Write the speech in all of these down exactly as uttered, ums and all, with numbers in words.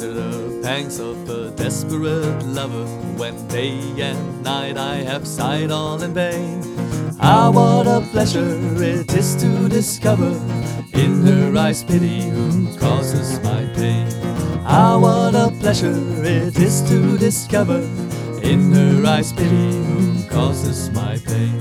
under the pangs of a desperate lover, when day and night I have sighed all in vain. Ah, what a pleasure it is to discover in her eyes pity who causes my pain. Ah, what a pleasure it is to discover in her eyes pity who causes my pain.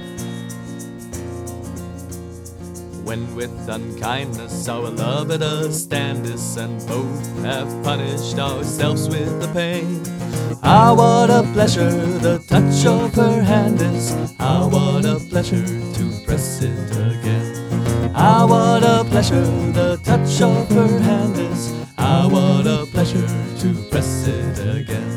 When with unkindness our love at a stand is, and both have punished ourselves with the pain. Ah, what a pleasure the touch of her hand is. Ah, what a pleasure to press it again. Ah, what a pleasure the touch of her hand is. Ah, what a pleasure to press it again.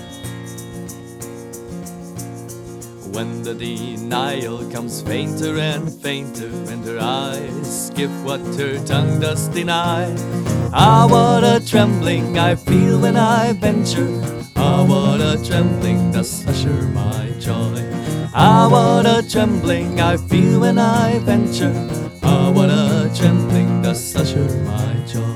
When the denial comes fainter and fainter, and her eyes give what her tongue does deny. Ah, what a trembling I feel when I venture. Ah, what a trembling does usher my joy. Ah, what a trembling I feel when I venture. Ah, what a trembling does usher my joy.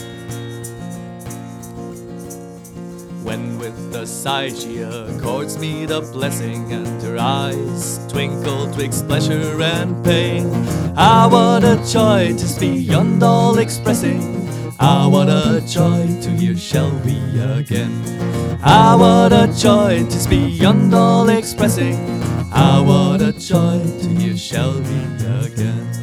When with a sigh she accords me the blessing, and her eyes twinkle twixt pleasure and pain. Ah, what a joy 'tis beyond all expressing. Ah, what a joy to hear shall we again. Ah, what a joy 'tis beyond all expressing. Ah, what a joy to hear shall we again.